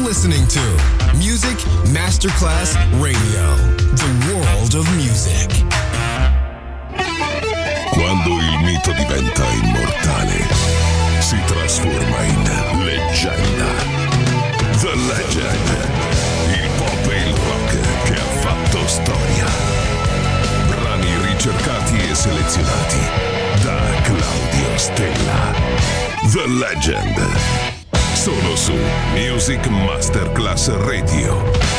listening to Music Masterclass Radio, the world of music. Quando il mito diventa immortale, si trasforma in leggenda. The Legend, il pop e il rock che ha fatto storia. Brani ricercati e selezionati da Claudio Stella. The Legend, solo su Music Masterclass Radio.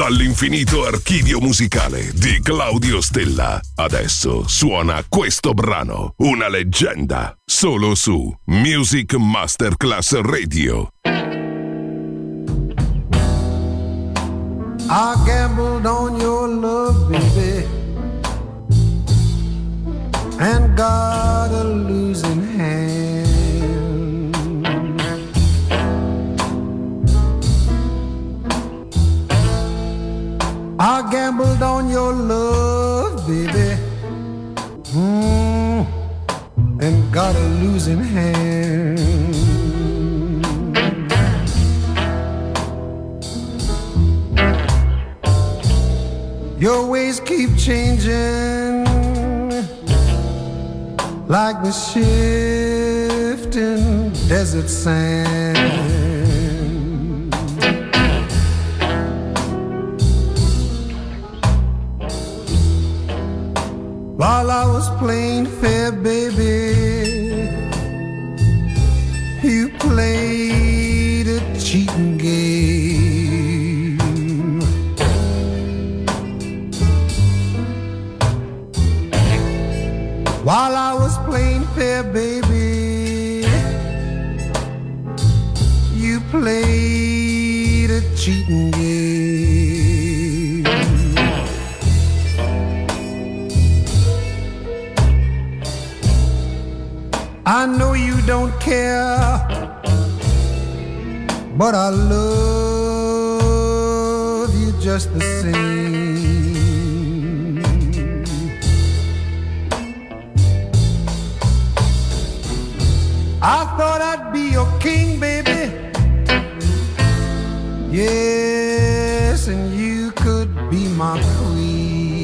Dall'infinito archivio musicale di Claudio Stella. Adesso suona questo brano, una leggenda, solo su Music Masterclass Radio. I gambled on your love, baby, and got a losing hand. I gambled on your love, baby, and got a losing hand. Your ways keep changing like the shifting desert sand. While I was playing fair, baby, you played a cheating game. While I was playing fair, baby, you played a cheating game. I know you don't care, but I love you just the same. I thought I'd be your king, baby. Yes, and you could be my queen.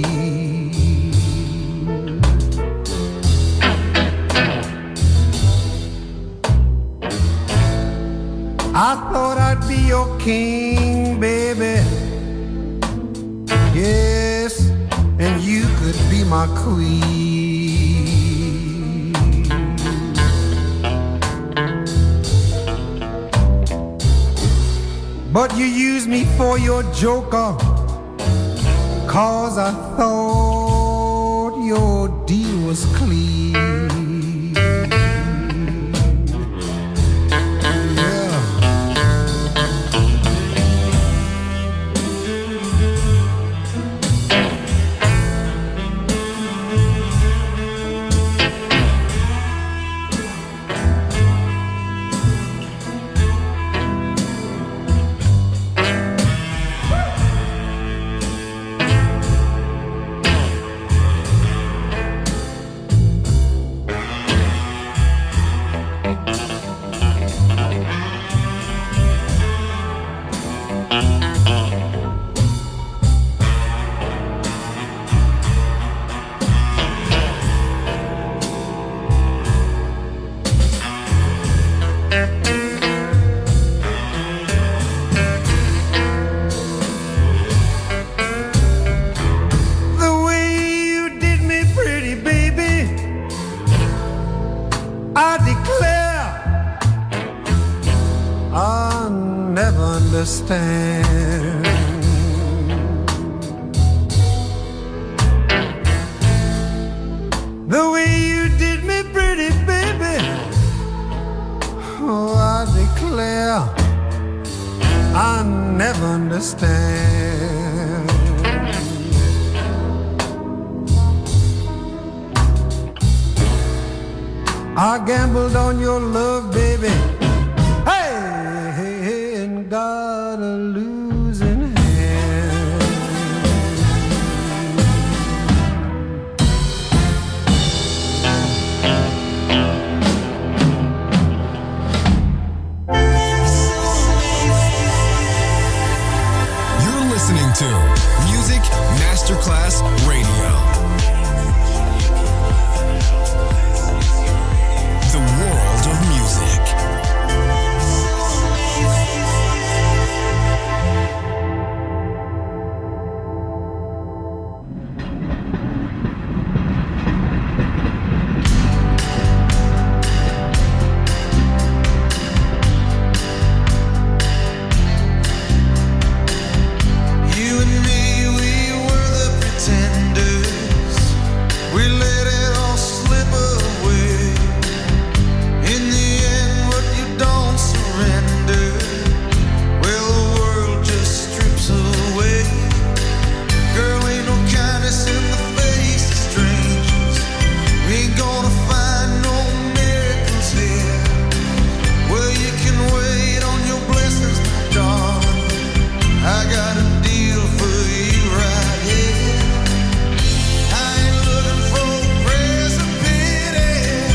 I thought I'd be your king, baby. Yes, and you could be my queen. But you used me for your joker, 'cause I thought your deal was clean. Understand. The way you did me pretty, baby, oh, I declare I never understand. I gambled on your love, baby, got a losing hand. You're listening to Music Masterclass Radio. The world of music. We let it all slip away. In the end, what you don't surrender, well, the world just strips away. Girl, ain't no kindness in the face of strangers. We ain't gonna find no miracles here. Well, you can wait on your blessings, my darling. I got a deal for you right here. I ain't looking for praise or pity.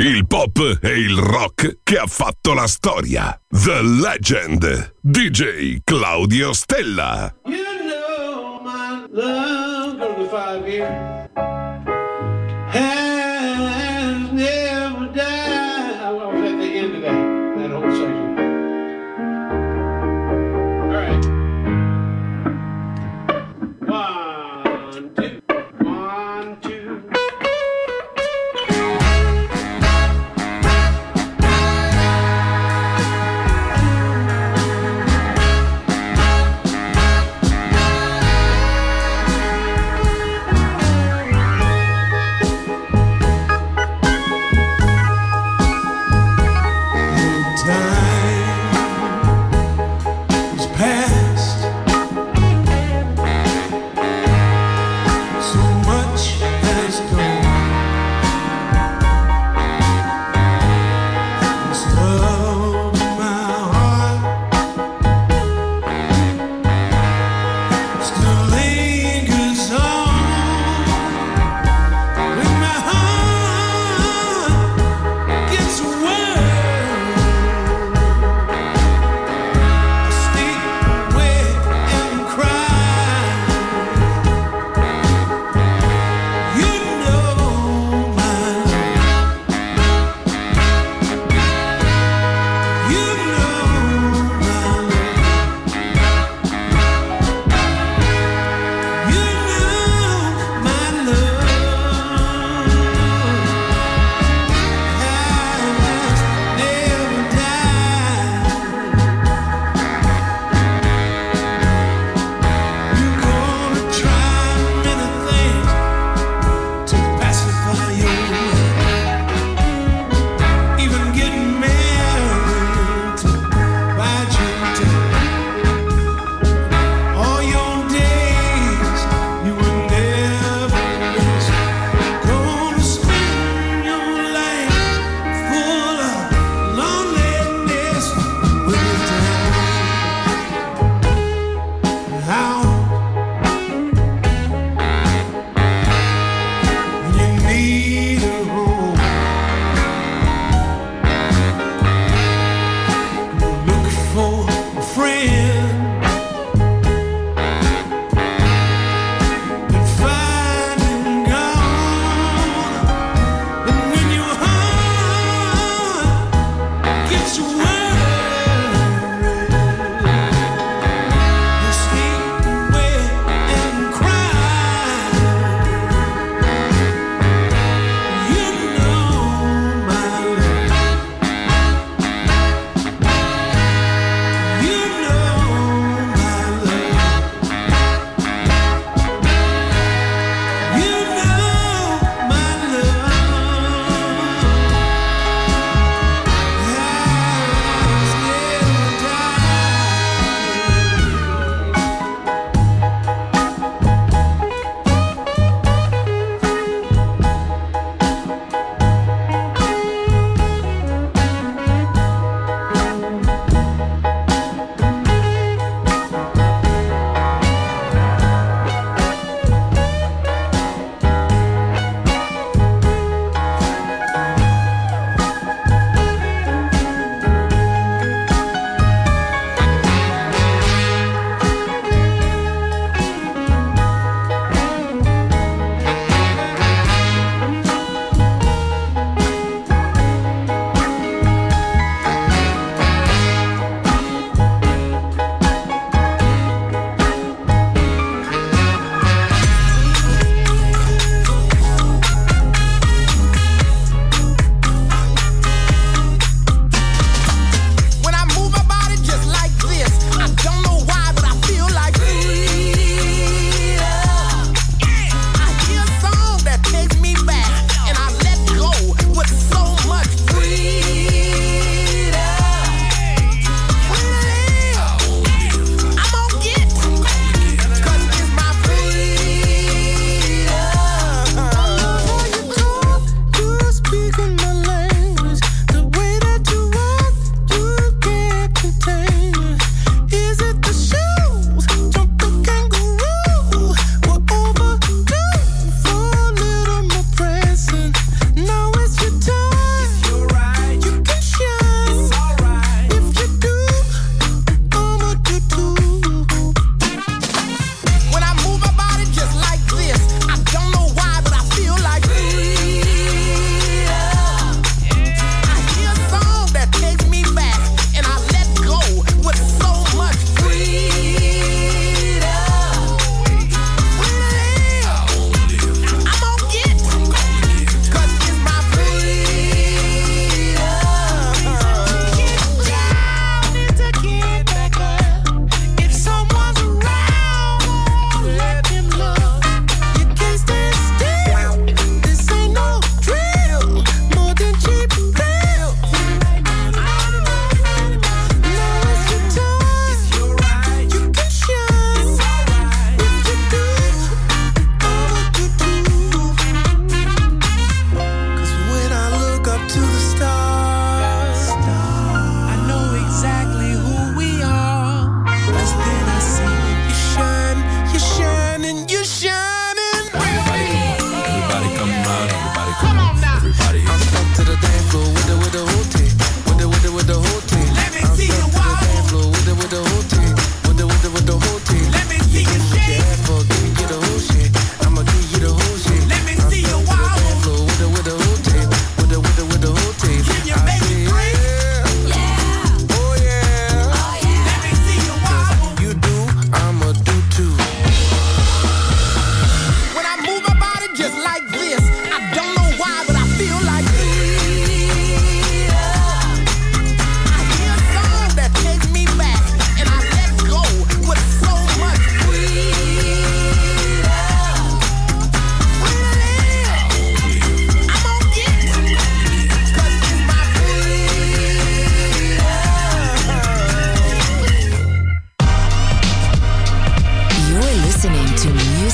il pop e il rock che ha fatto la storia. The Legend, DJ Claudio Stella. You know my love for the 5 years has never died. I was at the end of that whole section. All right. 1, 2, 1, 2.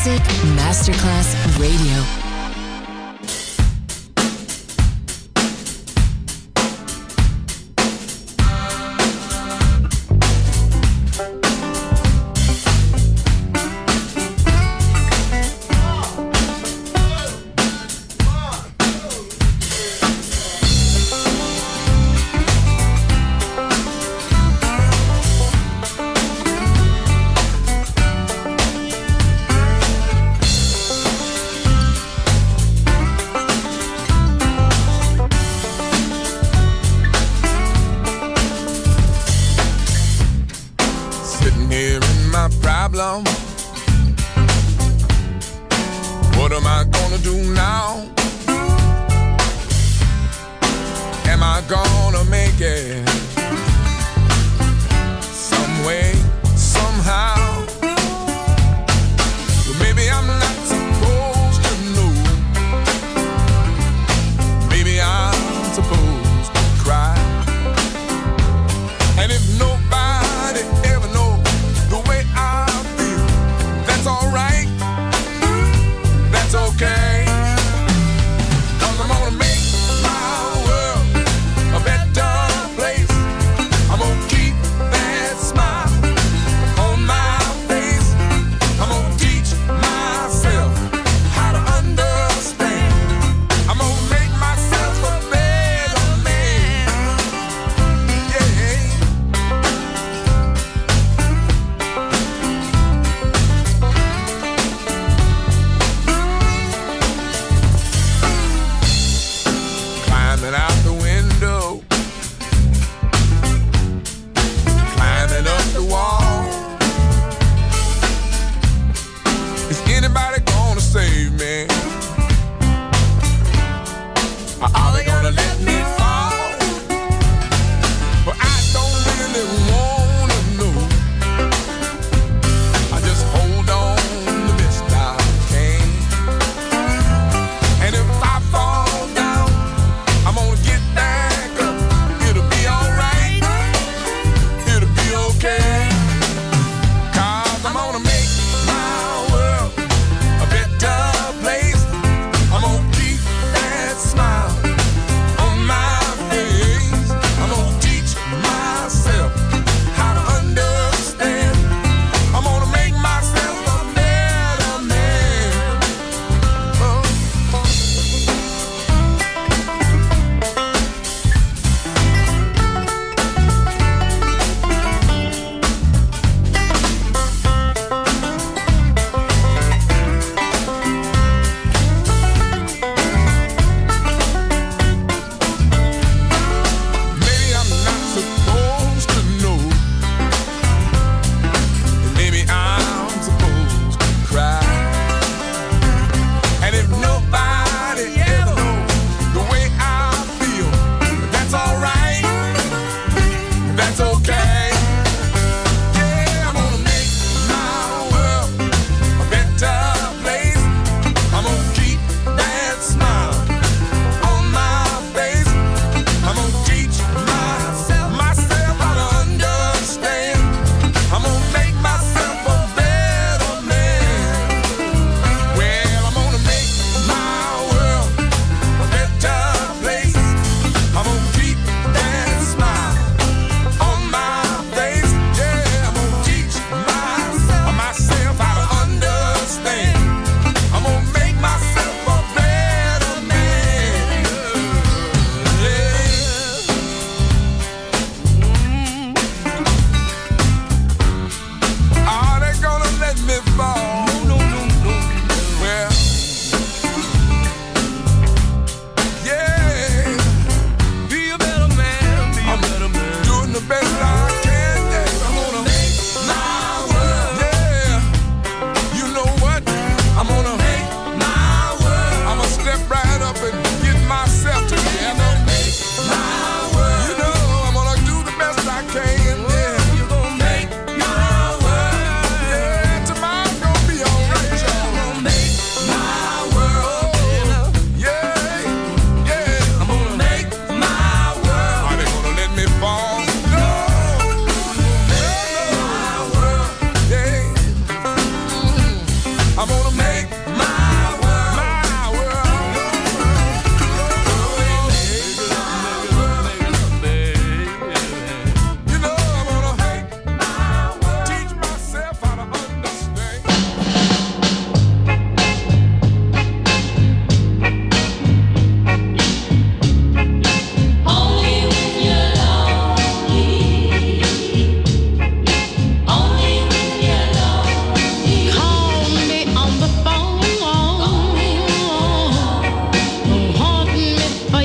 Music Masterclass Radio.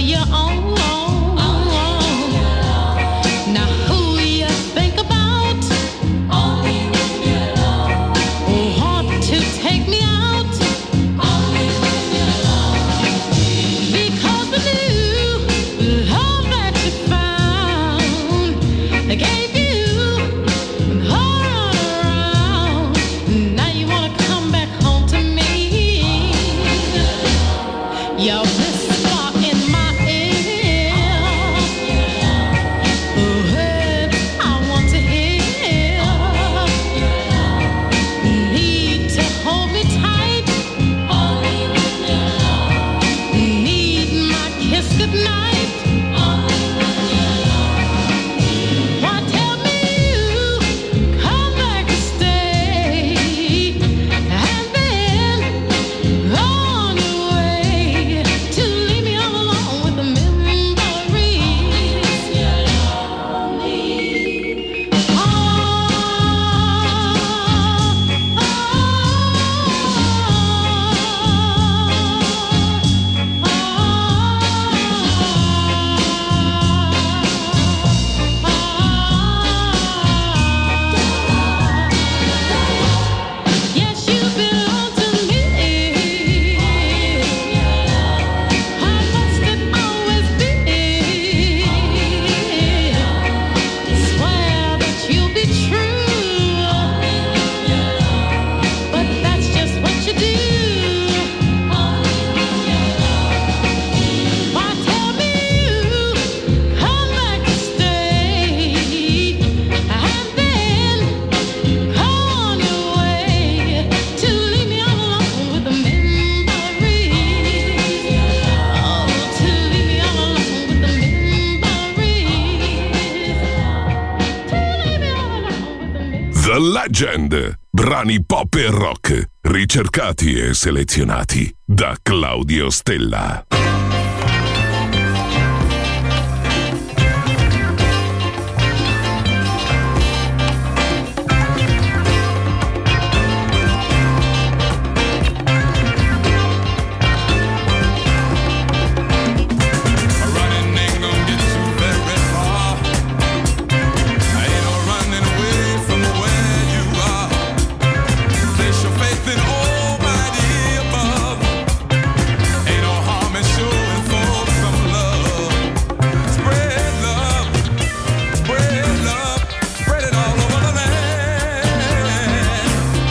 your own. Now who you think about? Only when you're alone. Want to take me out? Only when you're alone. Because the new love that you found, I gave you all around. Now you wanna come back home to me. You're whisper in my ear, words I want to hear. Need to hold me tight. Only when you're alone. Need my kiss goodnight. Only when you're alone. Why tell me you come back and stay, and then go on your way to leave me all alone with the memories. You're lonely. Yes, you belong to me. How must it always be? Swear that you'll be true, but that's just what you do. Why tell me you come back and stay, and then go on your way to leave me all alone with the memories. Oh, to leave me all alone with the memories. To leave me all alone with the memories. The Legend. Brani pop e rock, ricercati e selezionati da Claudio Stella. Running ain't gonna get you very far. Ain't no running away from where you are. Place your faith in Almighty above. Ain't no harm in showing folks some love. Spread love, spread love, spread it all over the land.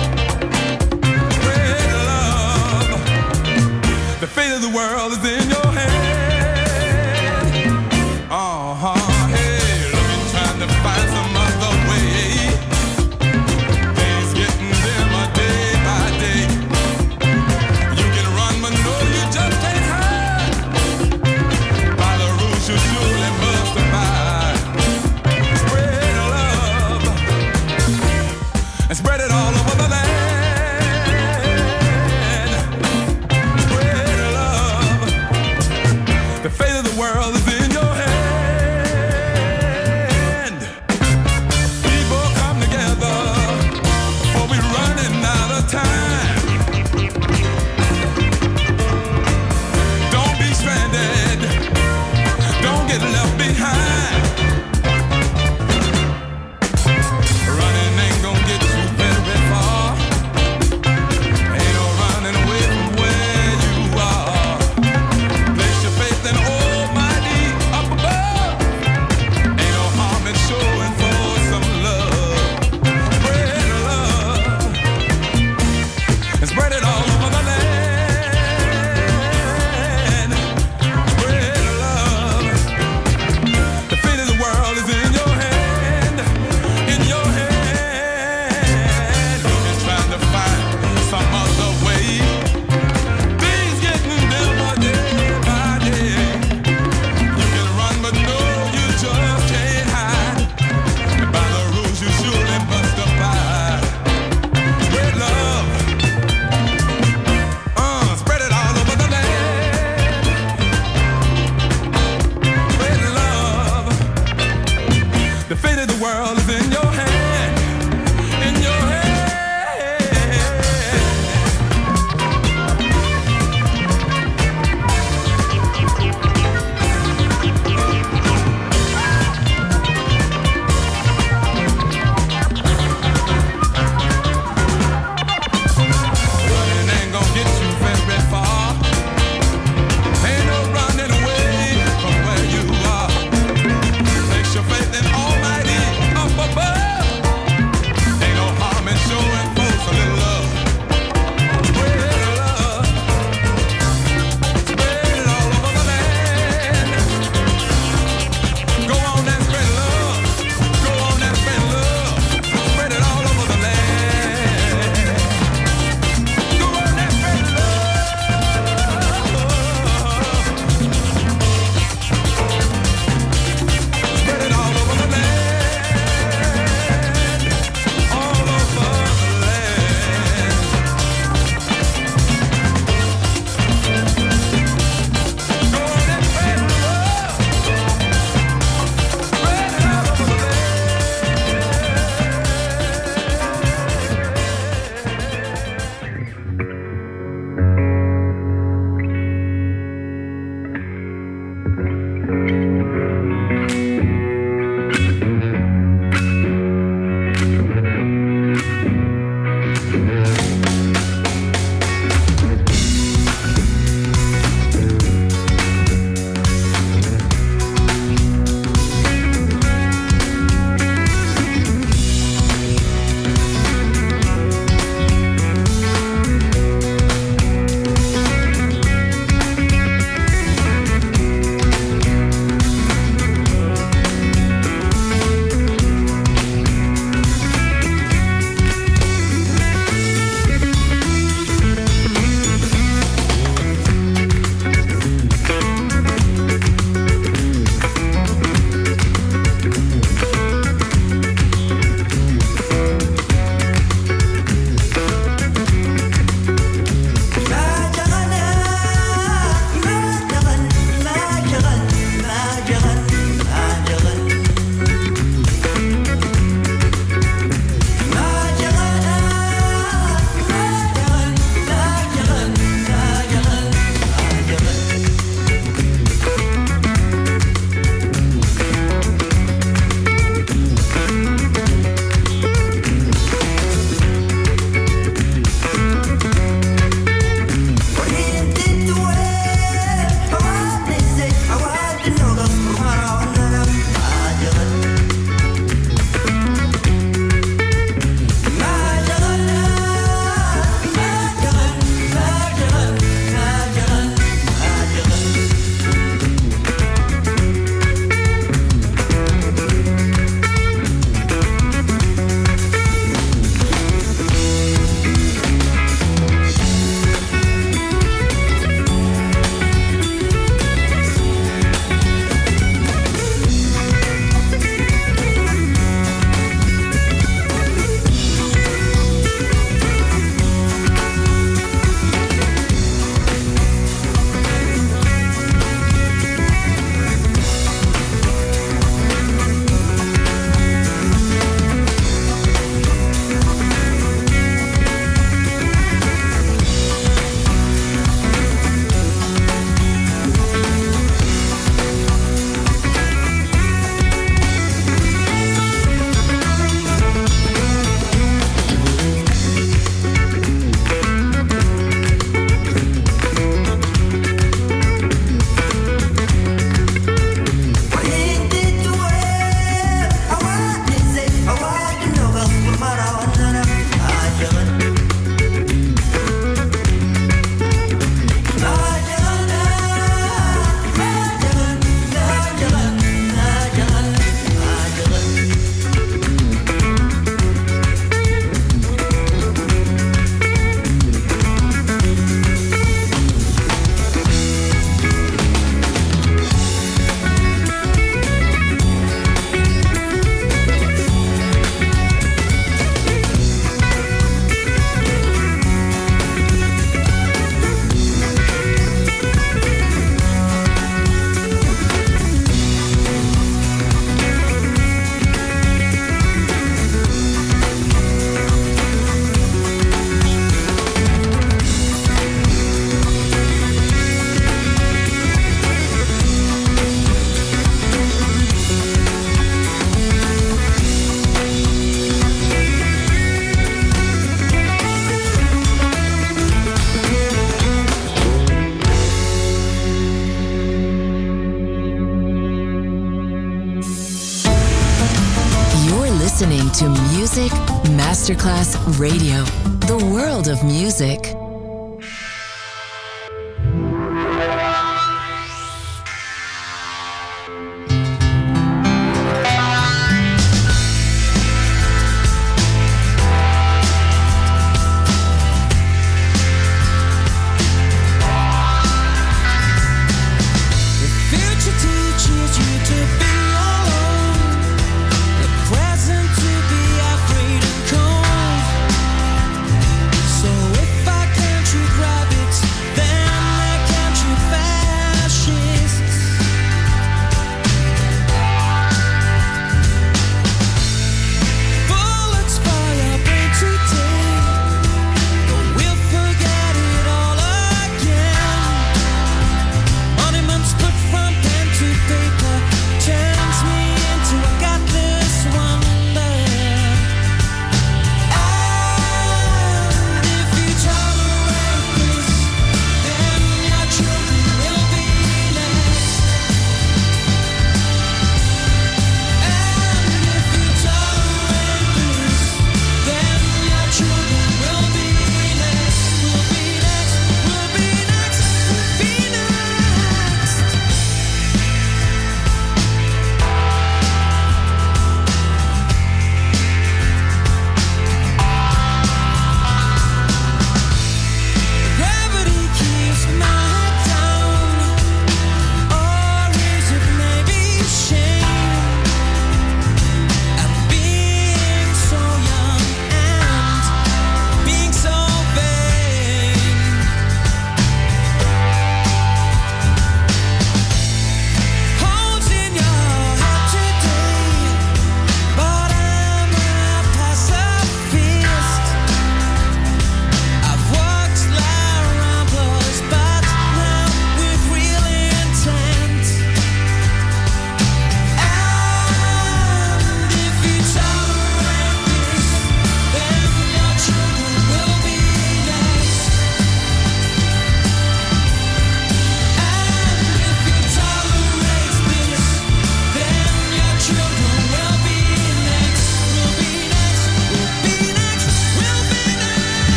Spread love. The fate of the world is in your hand. Hey, look, you're trying to find some other way. Things getting dimmer day by day. You can run, but no, you just can't hide. By the rules you surely must abide. Spread love and spread it all over the land. Spread love. The fate of the world is in your hand. People come together, for we're running out of time. Don't be stranded, don't get left behind. Running ain't gonna get you very far. Ain't no running away from where you are. Place your faith in Almighty up above. Ain't no harm in showing for some love. Spread love and spread it all over the land. Spread love. The fate of the world is in your hand. In your hand. You've been trying to find some other way. Things getting dimmer day by day. You can run, but no, you just can't hide. And by the rules you surely must abide. Spread love. Spread it all over the land. Spread love. The fate of the world is in your hand. In your hand. listening to Music Masterclass Radio, the world of music.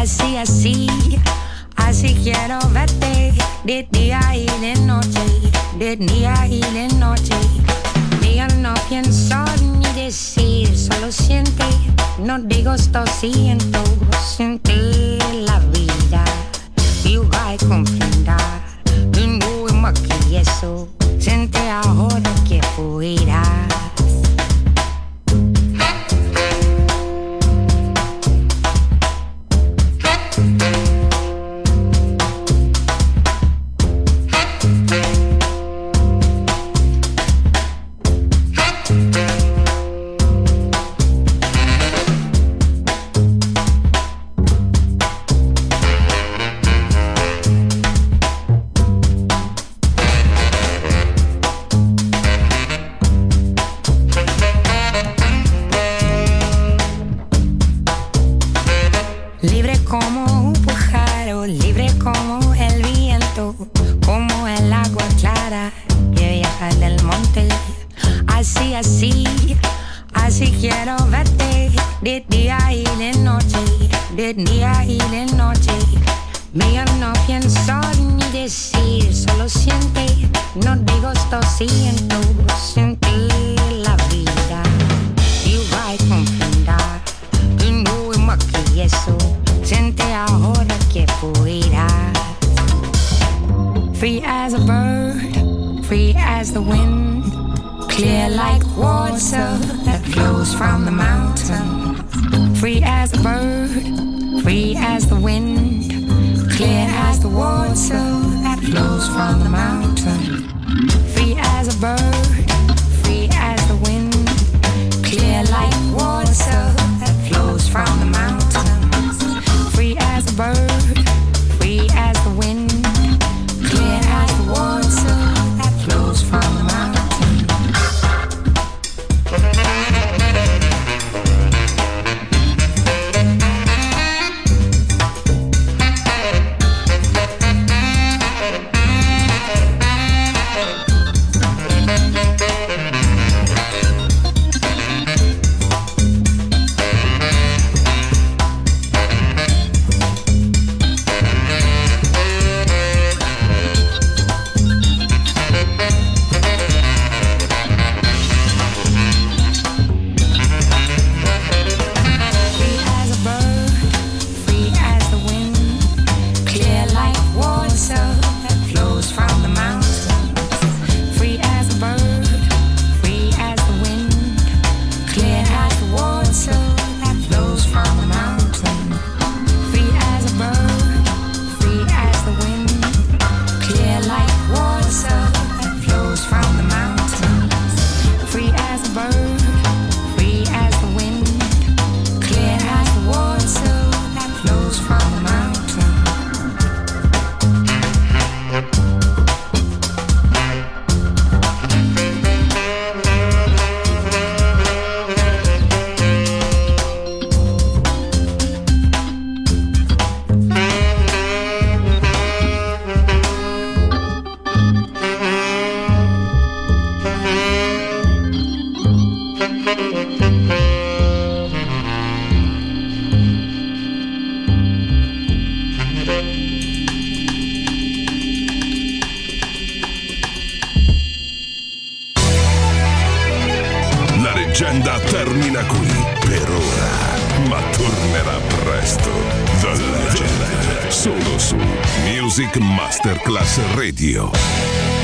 así, así quiero verte de día y de noche, de día y de noche. Yo no pienso ni decir, solo siente, no digo esto siento, sentir la vida y vai compreender, y no es más que eso, siente ahora que fuirás. Libre como un pájaro, libre como el viento, como el agua clara que viaja del monte. Así, así, así quiero verte de día y de noche, de día y de noche. Yo no pienso ni decir, solo siente, no digo esto siento, sentir la vida y vai comprender, y no es más que eso, siente ahora que fuirás. Free as a bird, free as the wind, clear like water that flows from the mountain. Free as a bird, free as the wind, clear as the water that flows from the mountain. Free as a bird, free as the wind, clear like water that flows from the mountain. Free as a bird, free as the wind, clear as the water that flows from the mountain. Termina qui per ora, ma tornerà presto. The Legend, solo su Music Masterclass Radio.